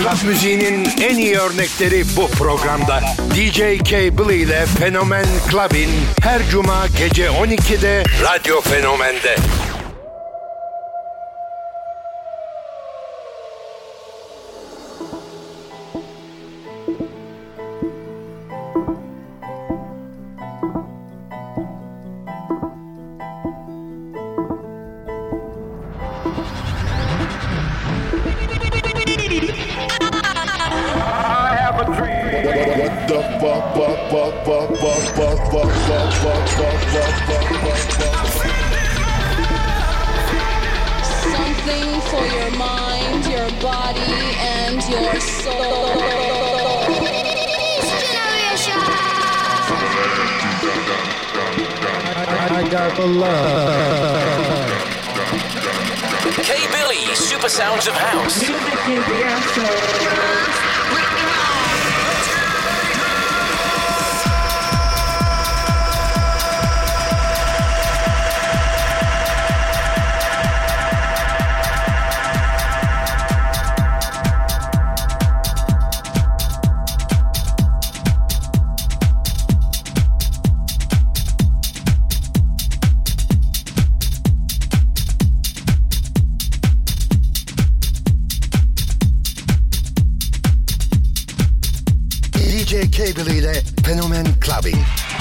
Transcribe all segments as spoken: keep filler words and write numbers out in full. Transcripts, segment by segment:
Club müziğinin en iyi örnekleri bu programda. D J Cable ile Fenomen Club'in her cuma gece on ikide Radyo Fenomen'de. Something for your mind, your body, and your soul. I got the love. K Billy, Super Sounds of House. D J Cable ile Fenomen Club'in.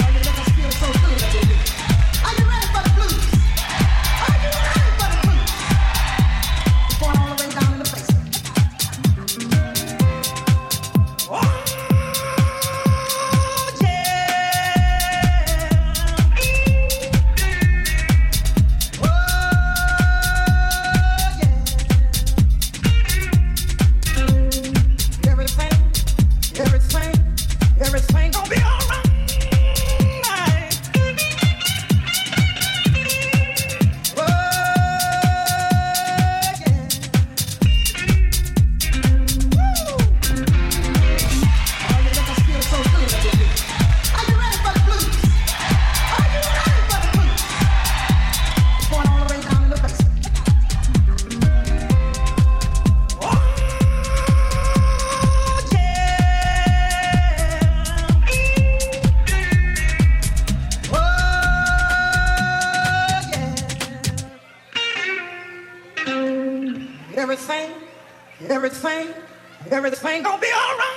Everything, everything, everything gonna be all right.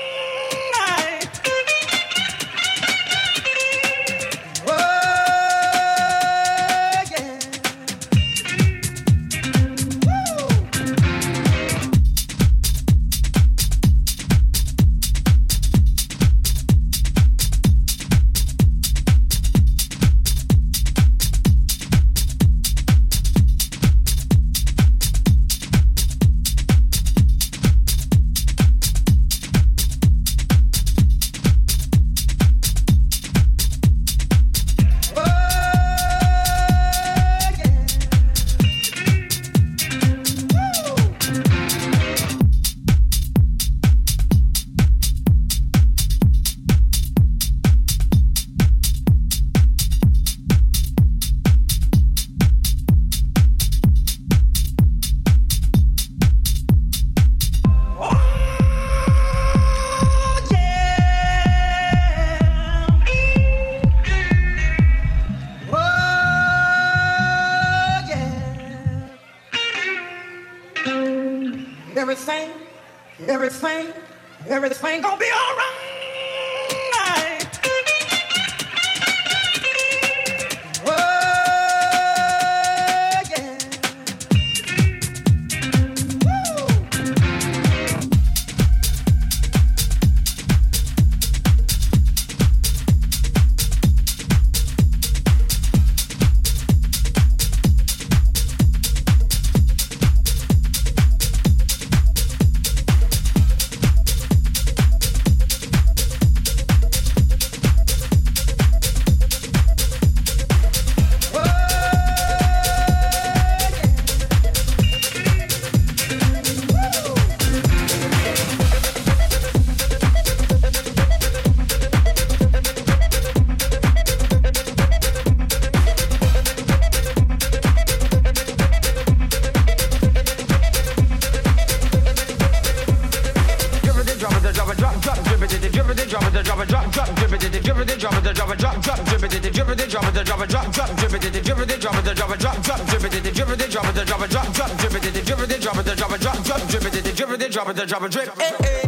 Oh, yeah. Woo. Everything, everything, everything gonna be all right. Oh, yeah. Woo. dribbity drop it, drop it, drop, drop, dribbity, dribbity drop it, drop it, drop, drop, dribbity, dribbity drop it, drop it, drop, drop, dribbity, dribbity drop it, drop it, drop, drop, dribbity, dribbity drop it, drop it, drop, drop, dribbity, dribbity drop it, drop it, drop, drop, dribbity, dribbity drop it, drop it, drip, eh, eh.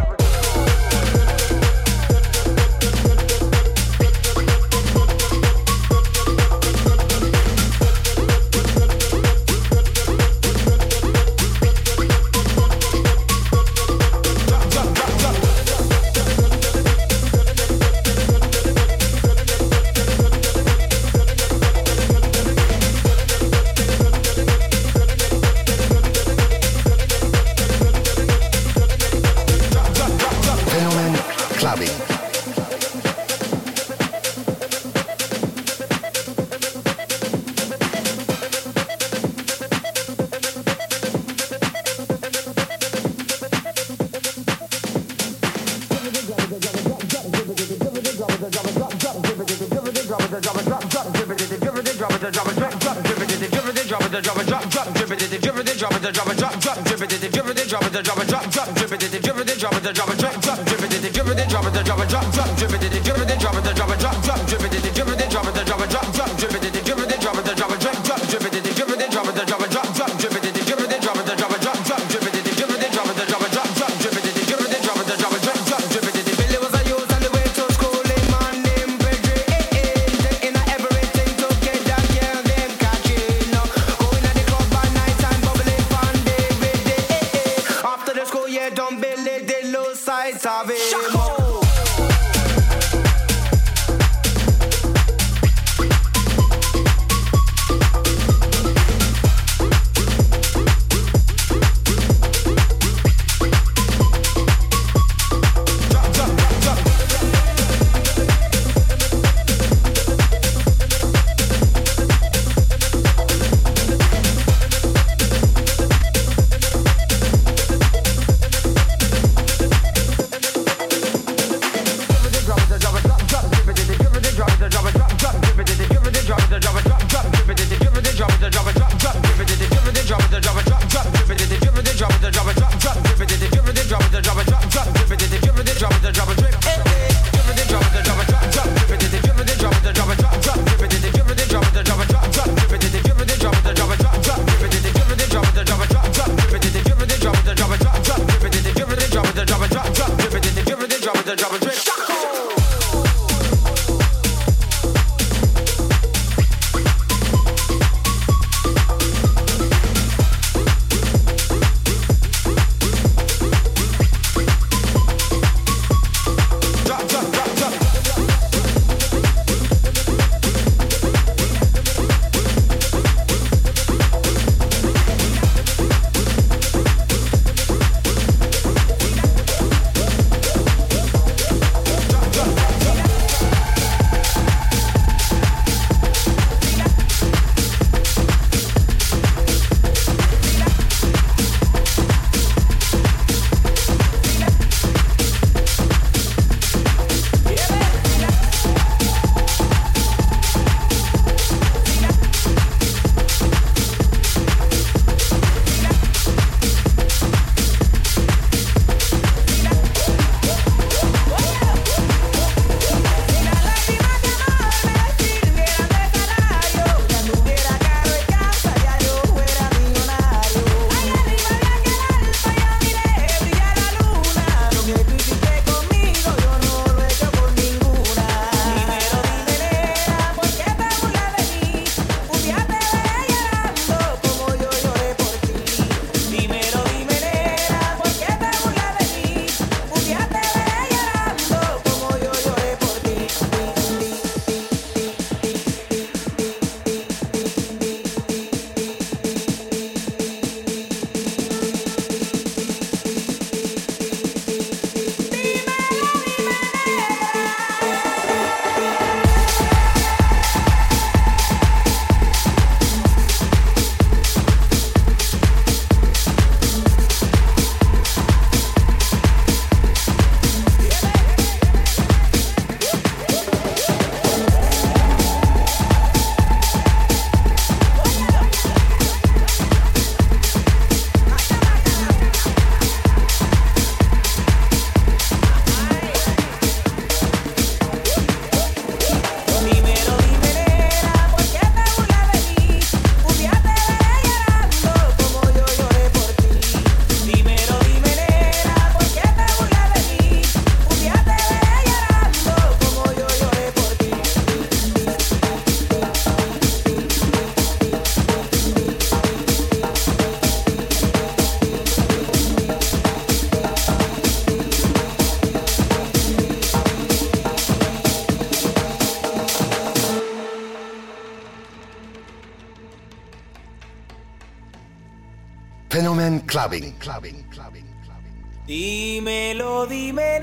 Clubbing. Clubbing. Clubbing. Dímelo, dime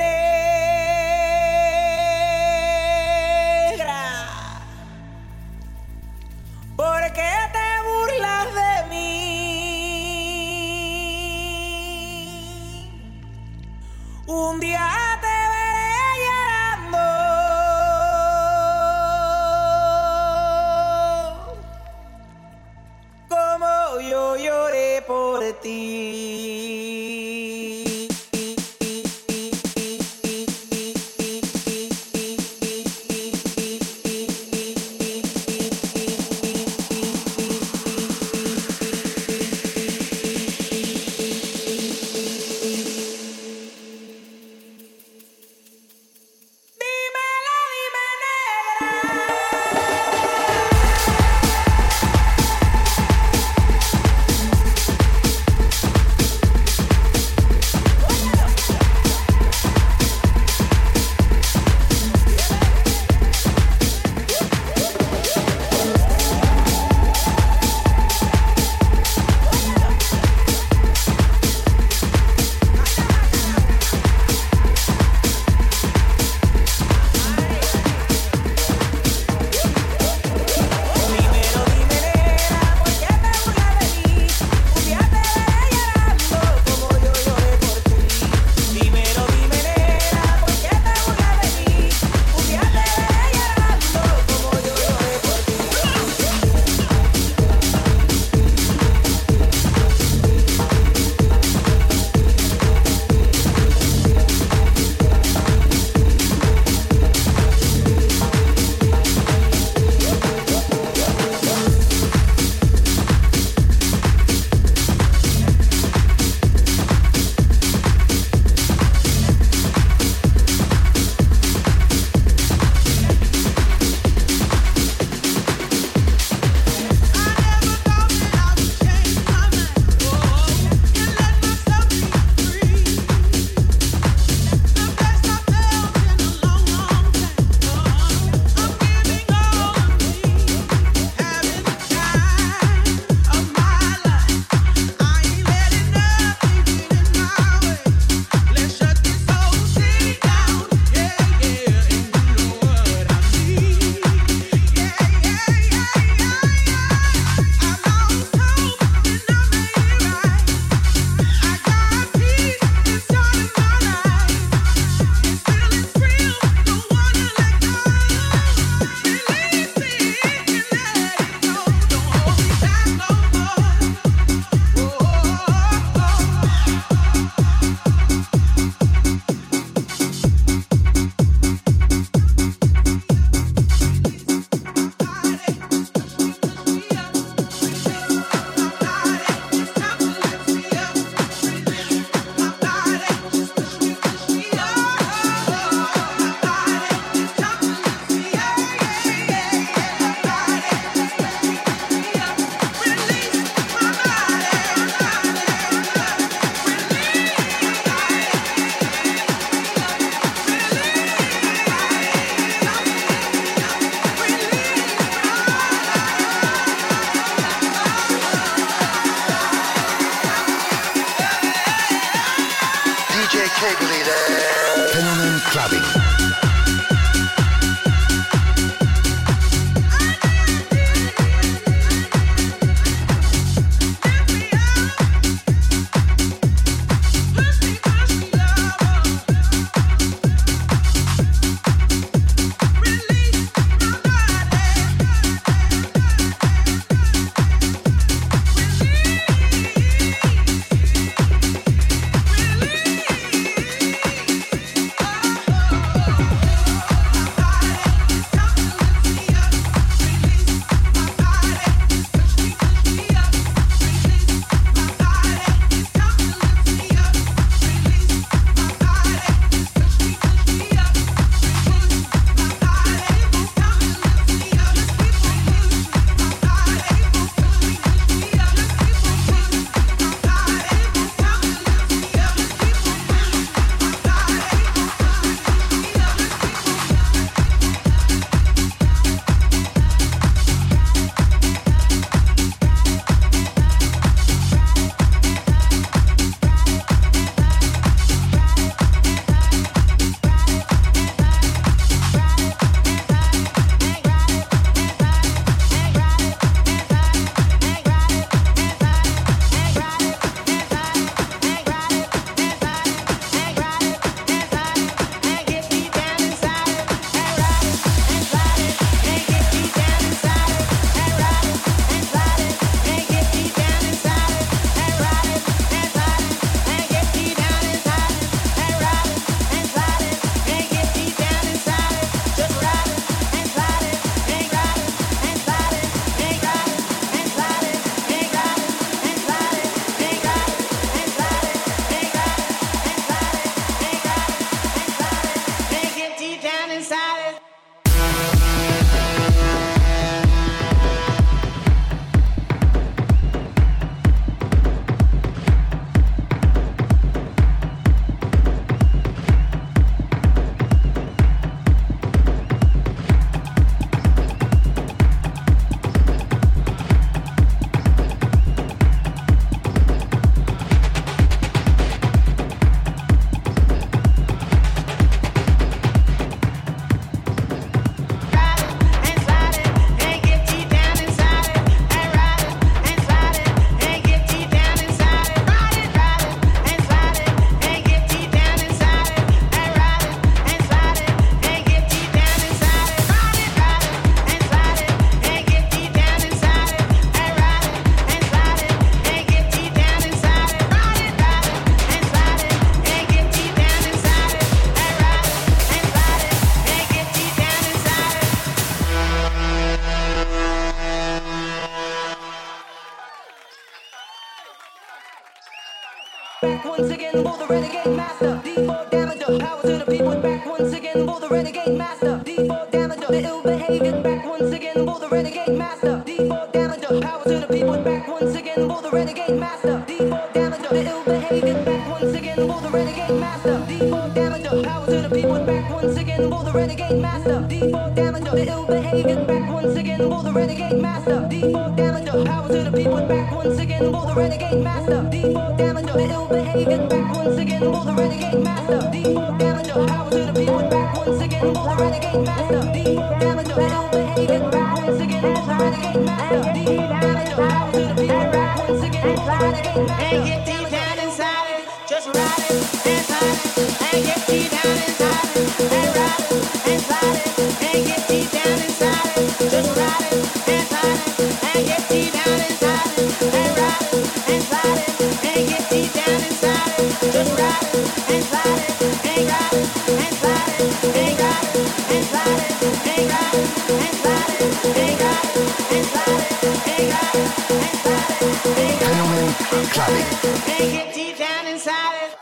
negra, ¿por qué te burlas de mí? Un día te veré llorando como yo lloré por ti. Fenomen Clubbing. once again for the renegade master. D four damager, power to the people back once again for the renegade master. D four damager, the ill behavior back once again for the renegade master. D four damager, power to the people back once again for the renegade master. D four damager, the ill behavior back once again for the renegade master. D four damager, power to the people back once again for the renegade master. D four damager, the ill behavior back once again for the renegade master. D four damager, power to the people back once again for the renegade master. D four damager, the ill behavior back once again for the renegade master. D four damager, power to the people back once again for the renegade master. D four damager, the ill behavior back once again for the renegade master. D four damager, power to the people back once again for the renegade master. And get deep down inside it, just ride it and slide it. And get deep down inside it, and ride it and slide it. And get deep down inside it, just ride it and slide it. And get deep down inside it, and ride it and slide it. And get deep down inside it, just ride it and slide it. And ride it and slide it, and ride it and slide it, and ride it and slide it, and ride it and slide it, and ride it and slide it, and Fenomen Clubbing. and get deep down inside it.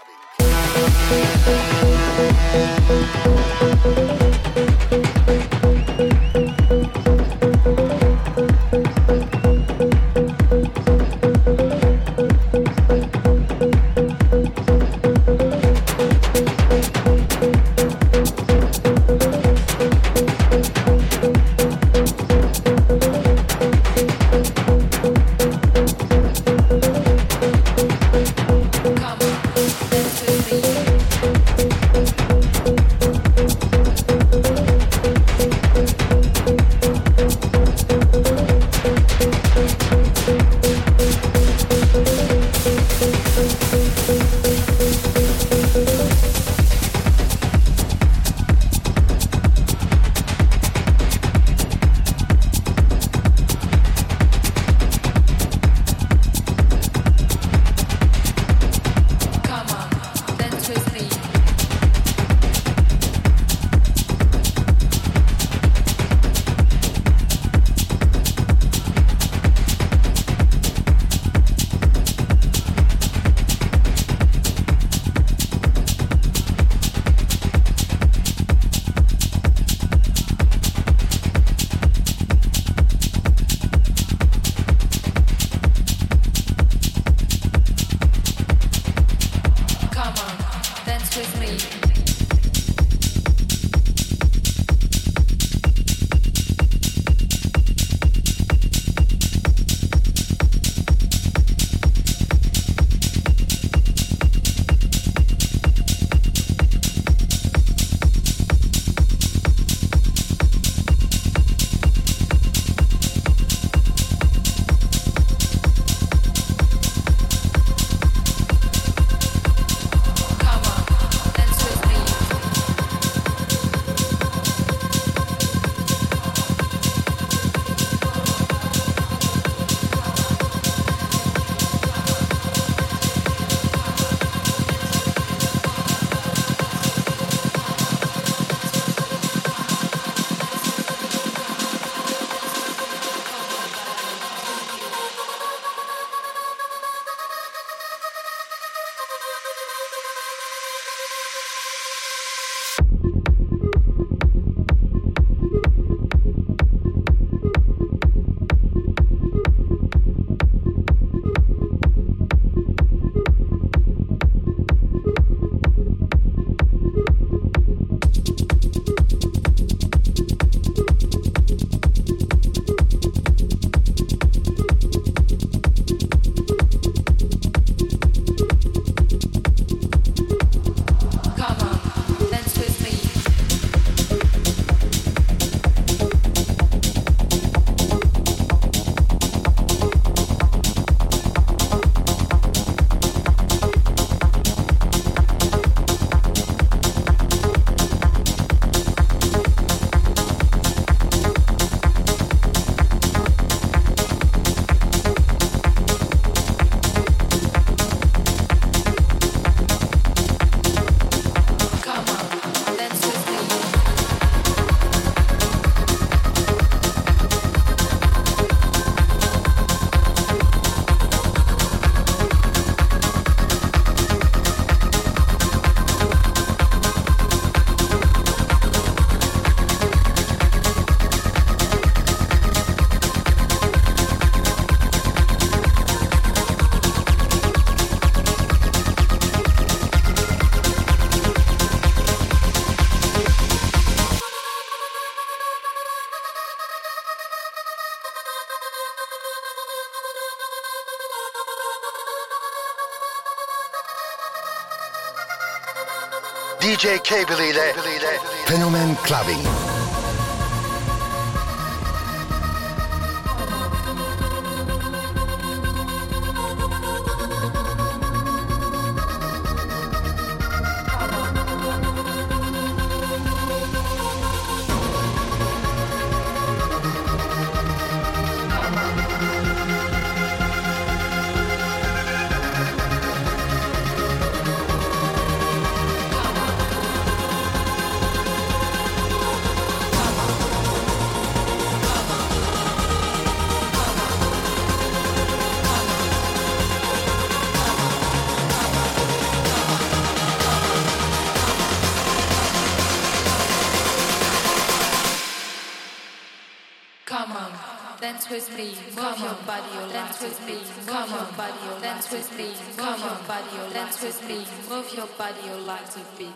D J Cable ile Fenomen Clubbing. Dance with me, move your body, your dance with me, move your body, your dance with me, move your body, your dance with me, move your body, your life to be.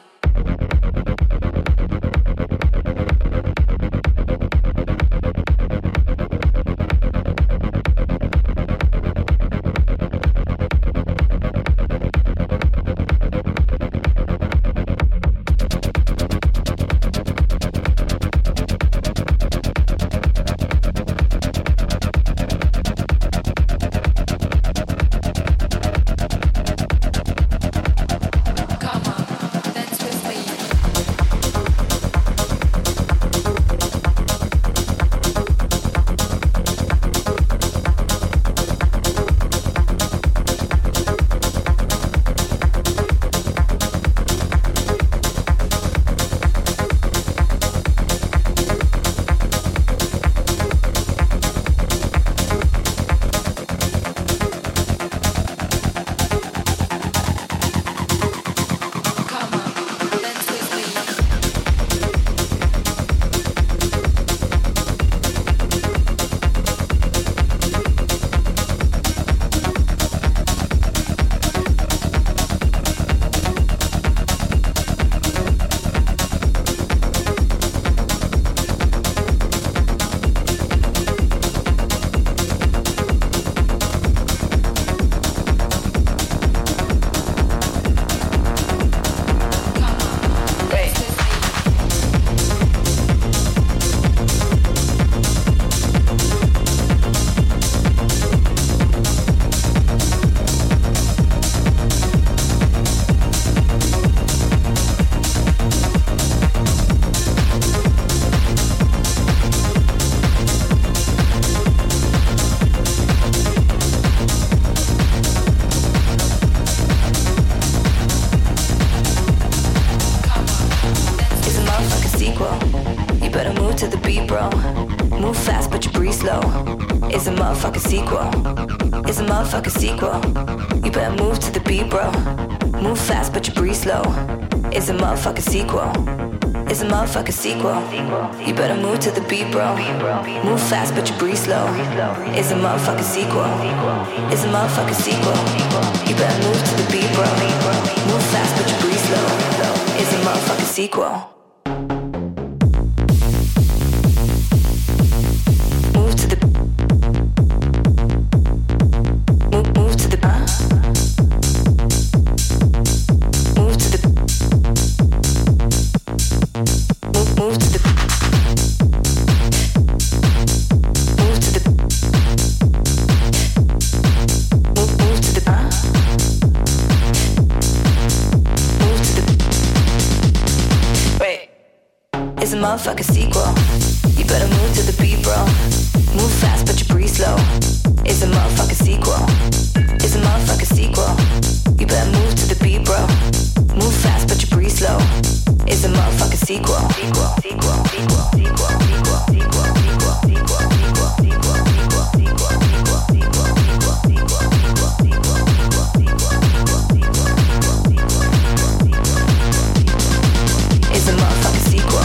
Motherfucker sequel. You better move to the beat, bro. Move fast, but you breathe slow. It's a motherfucker sequel. It's a motherfucker sequel. You better move to the beat, bro. Move fast, but you breathe slow. It's a motherfucker sequel. It's a motherfucker sequel. You better move to the beat, bro. Move fast, but you breathe slow. It's a motherfucker sequel. Motherfucker sequel. You better move to the beat, bro. Move fast, but you breathe slow. It's a motherfucker sequel. It's a motherfucker sequel. You better move to the beat, bro. Move fast, but you breathe slow. It's a motherfucker sequel. Sequel, sequel, sequel, sequel, sequel, sequel, sequel, sequel, sequel, sequel, sequel, sequel, sequel, sequel, it's a motherfucker sequel.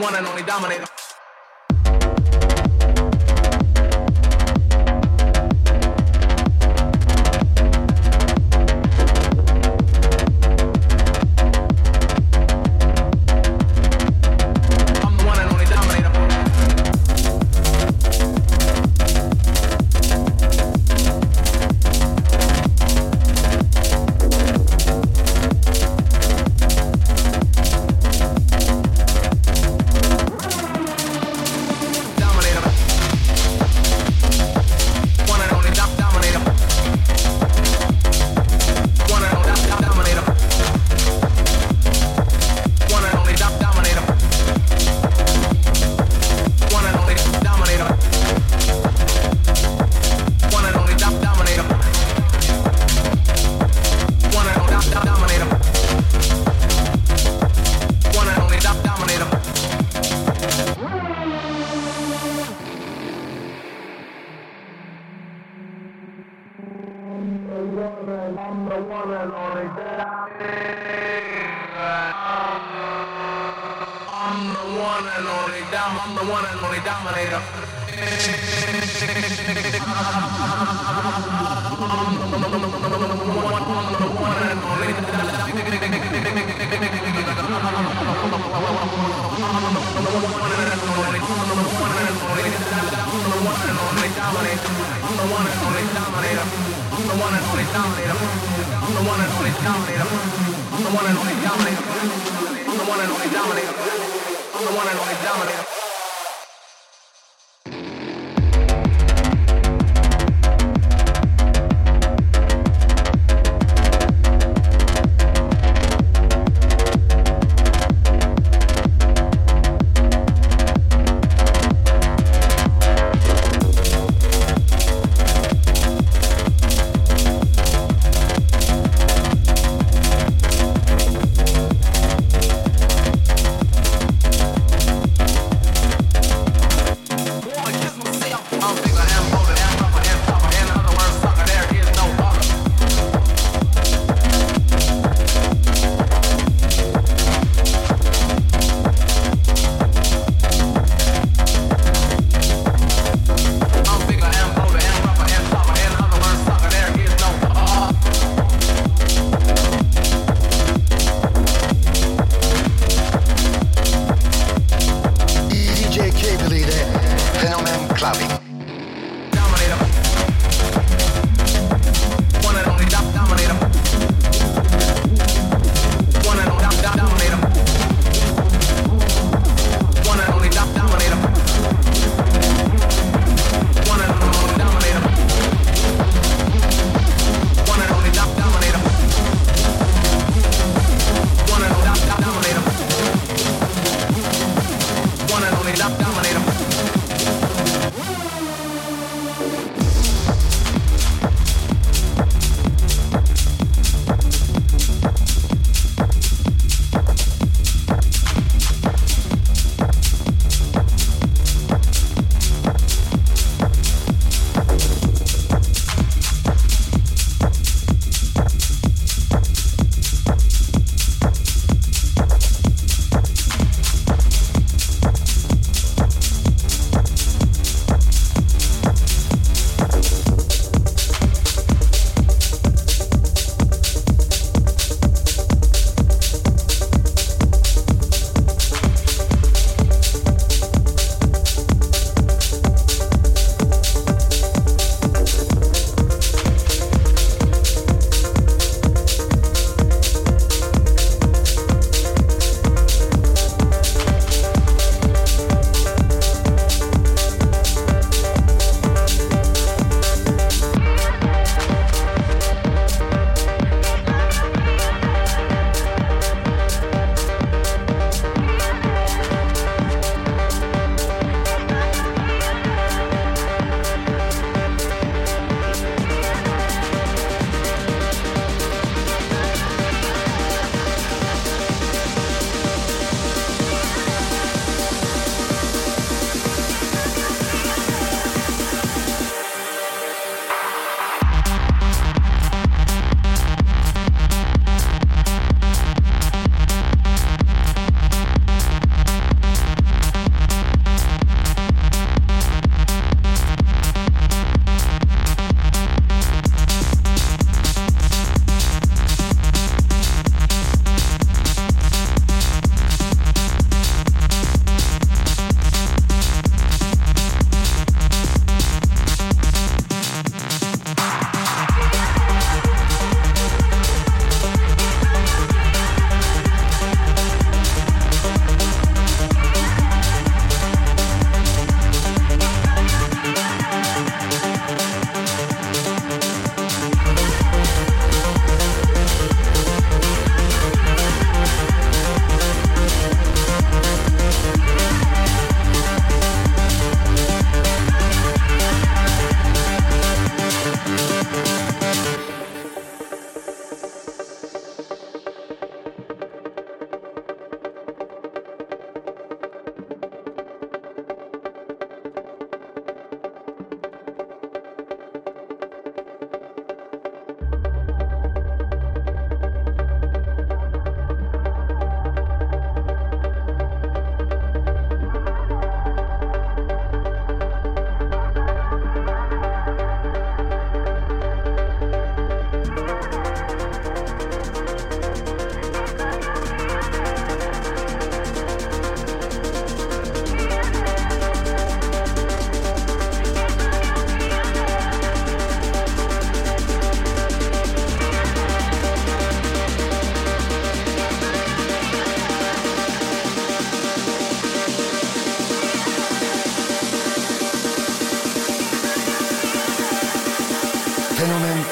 one and only dominator.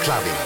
Clubbing.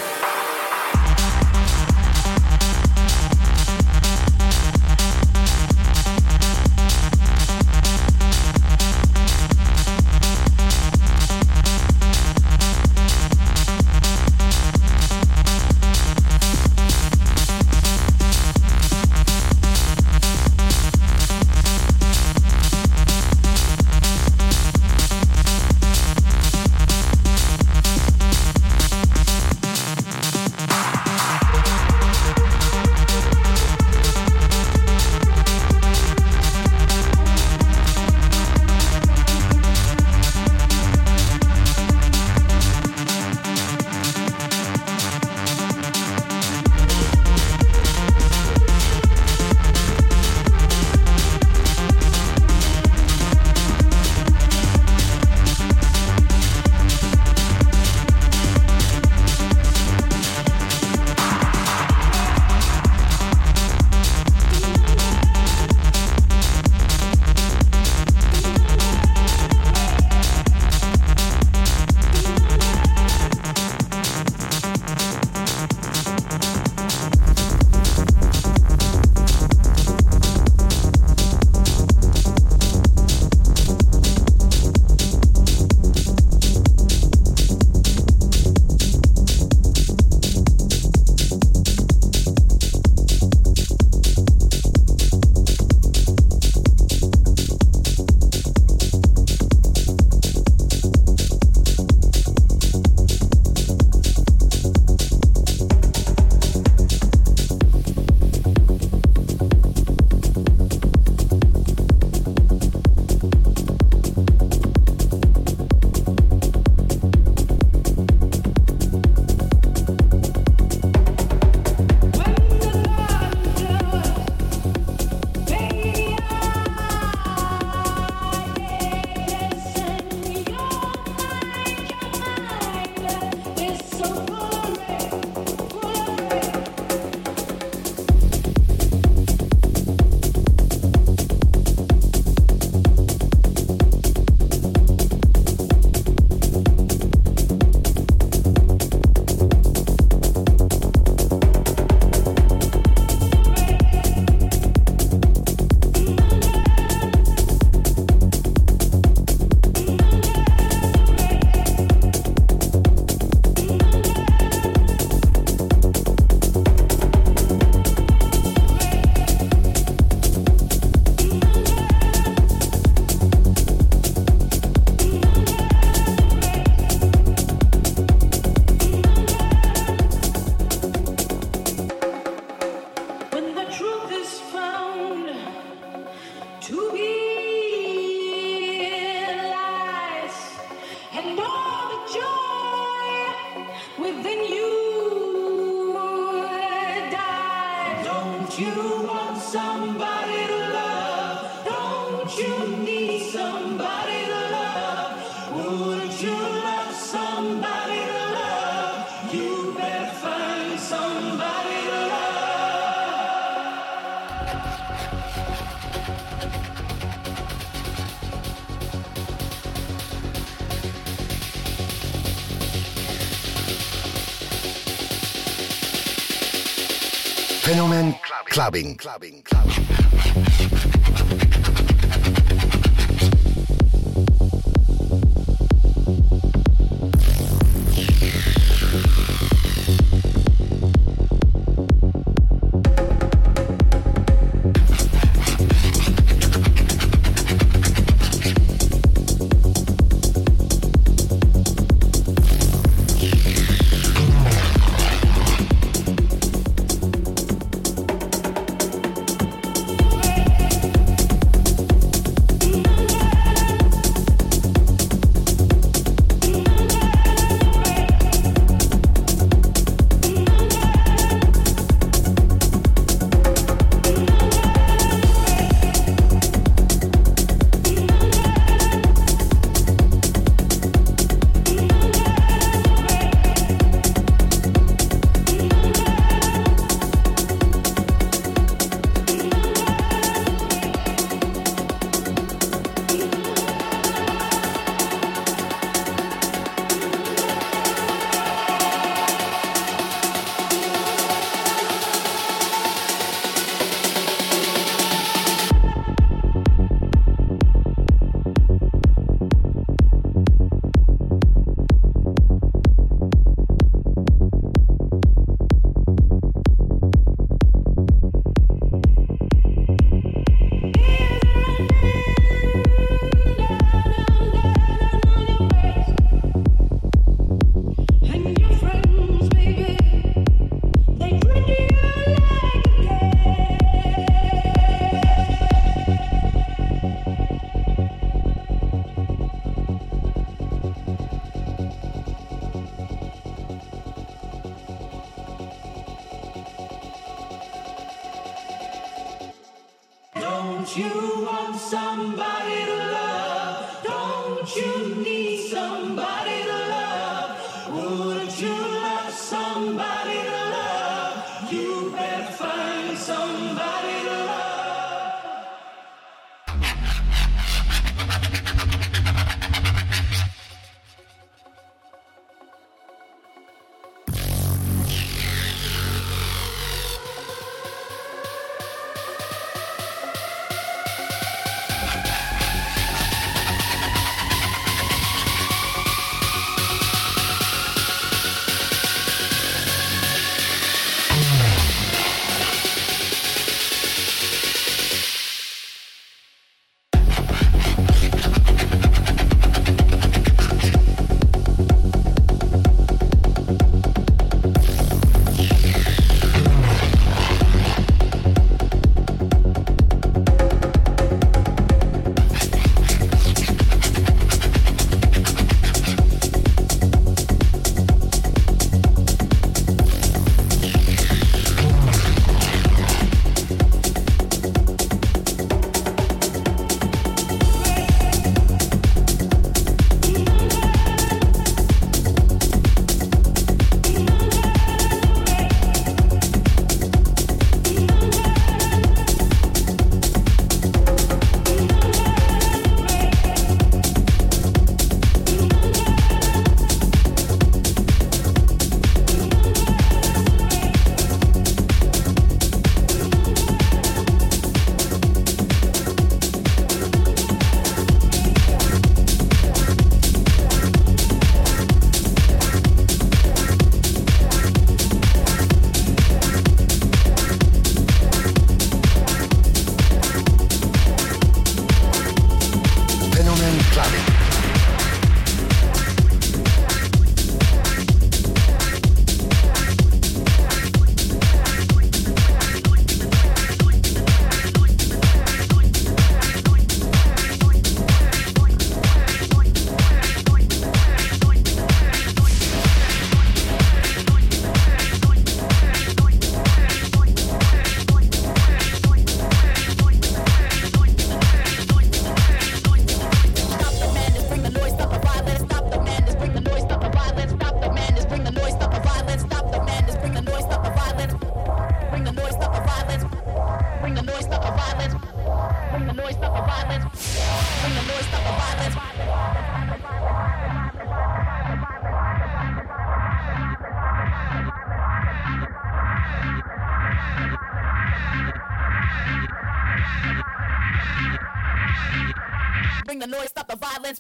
Fenomen Clubbing. Clubbing. Clubbing. Bring the noise, stop the violence.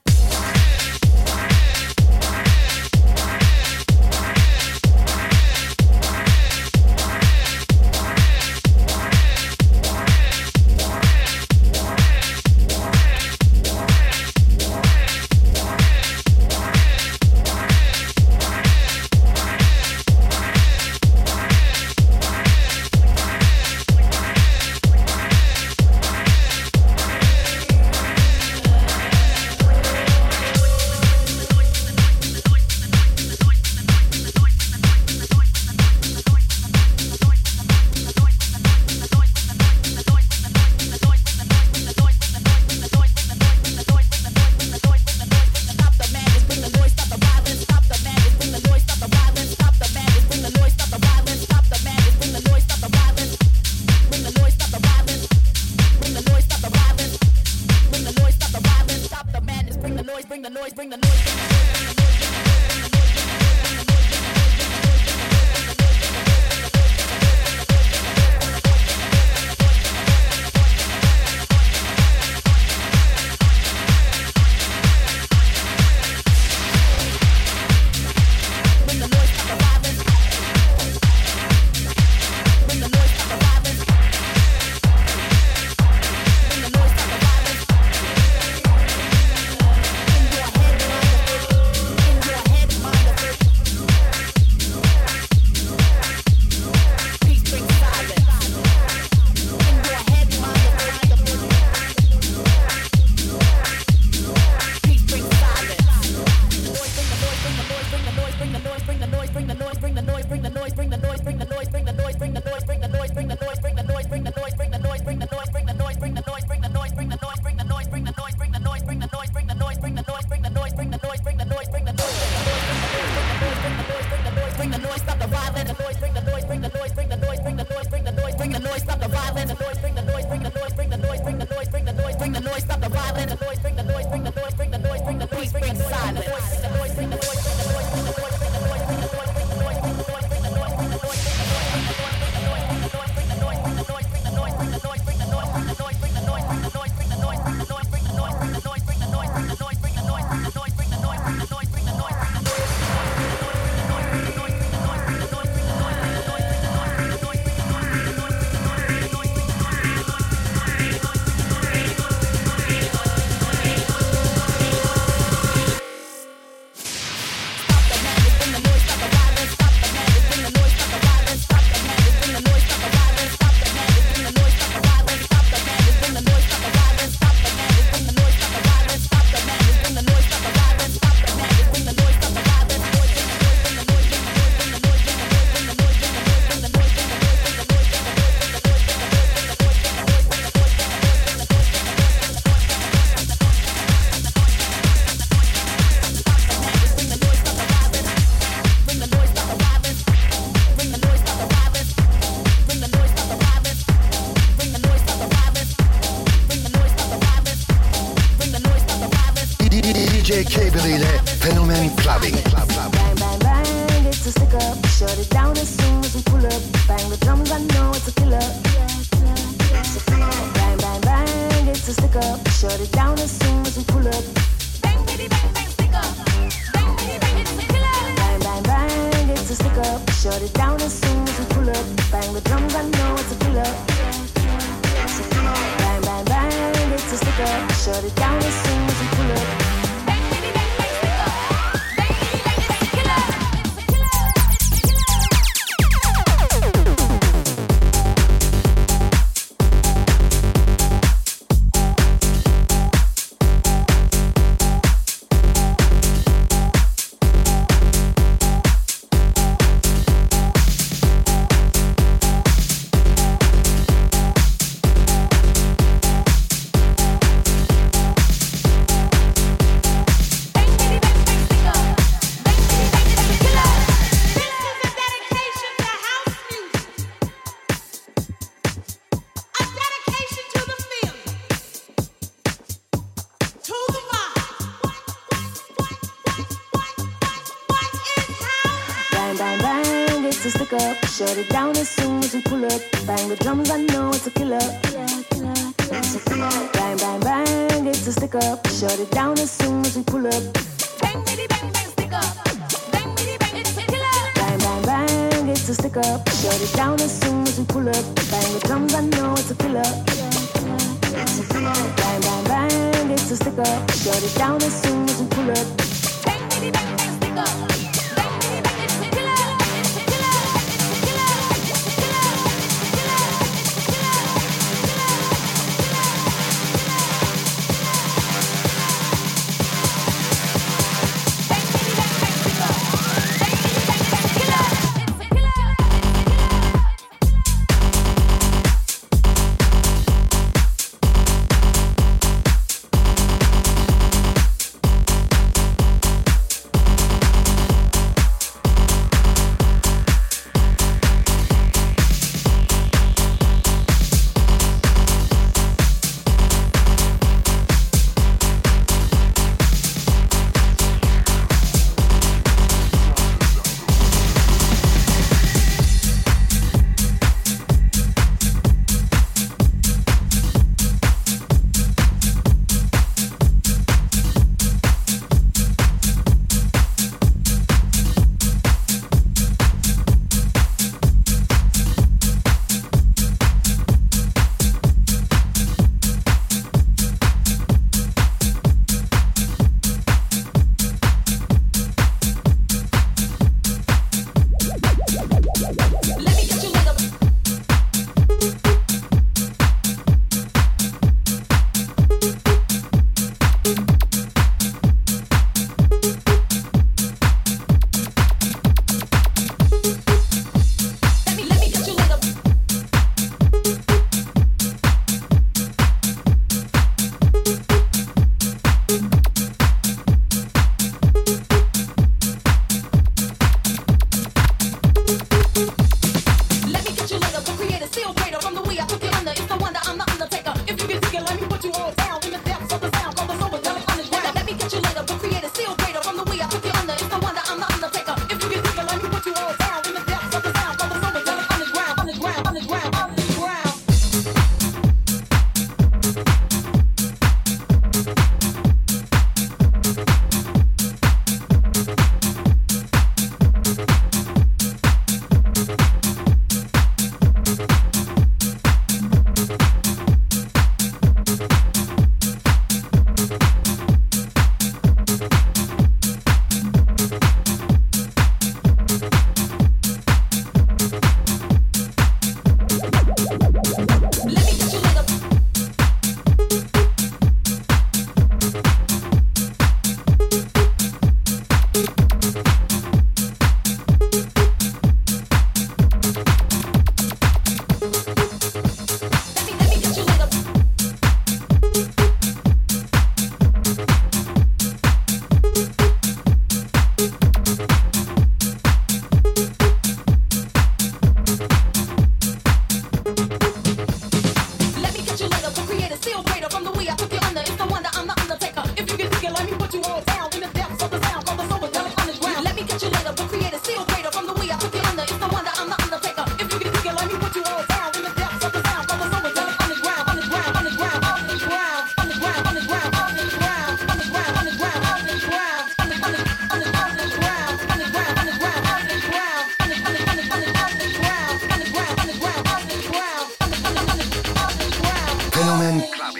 ile Fenomen Clubbing. Bang, bang, bang, it's a stick up. Shut it down as soon as we pull up. Bang the drums, I know it's a killer. Bang, bang, bang, it's a stick up. Shut it down as soon as we pull up. Bang, bitty, bang, bang, stick up. Bang, bitty, bang, it's a killer. Bang, bang, bang, it's a stick up. Shut it down as soon as we pull up. Bang the drums, I know it's a killer. Bang, bang, bang, it's a stick up. Shut it down as soon as we pull up. Shut it down as soon as we pull up. Bang the drums, I know it's a killer. Bang, bang, bang, it's a stick up. Shut it down as soon as we pull up. Bang, bitty, bang, bang, stick up. Bang, bitty, bang, it's a killer. Bang, bang, bang, it's a stick up. Shut it down as soon as we pull up. Bang the drums, I know it's a killer. Bang, bang, bang, it's a stick up. Shut it down as soon as we pull up. Bang, bitty, bang, bang, stick up.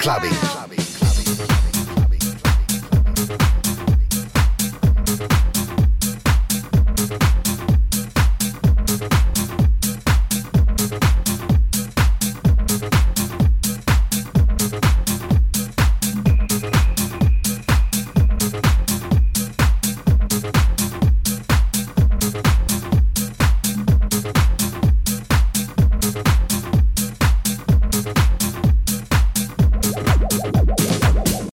Clubbing.